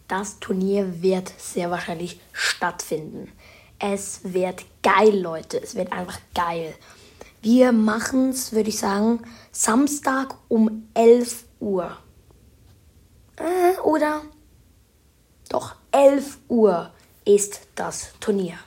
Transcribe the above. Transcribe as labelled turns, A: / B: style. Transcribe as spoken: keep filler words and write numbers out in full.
A: Das Turnier wird sehr wahrscheinlich stattfinden. Es wird geil, Leute. Es wird einfach geil. Wir machen es, würde ich sagen, Samstag um elf Uhr. Äh, oder? Doch, elf Uhr ist das Turnier.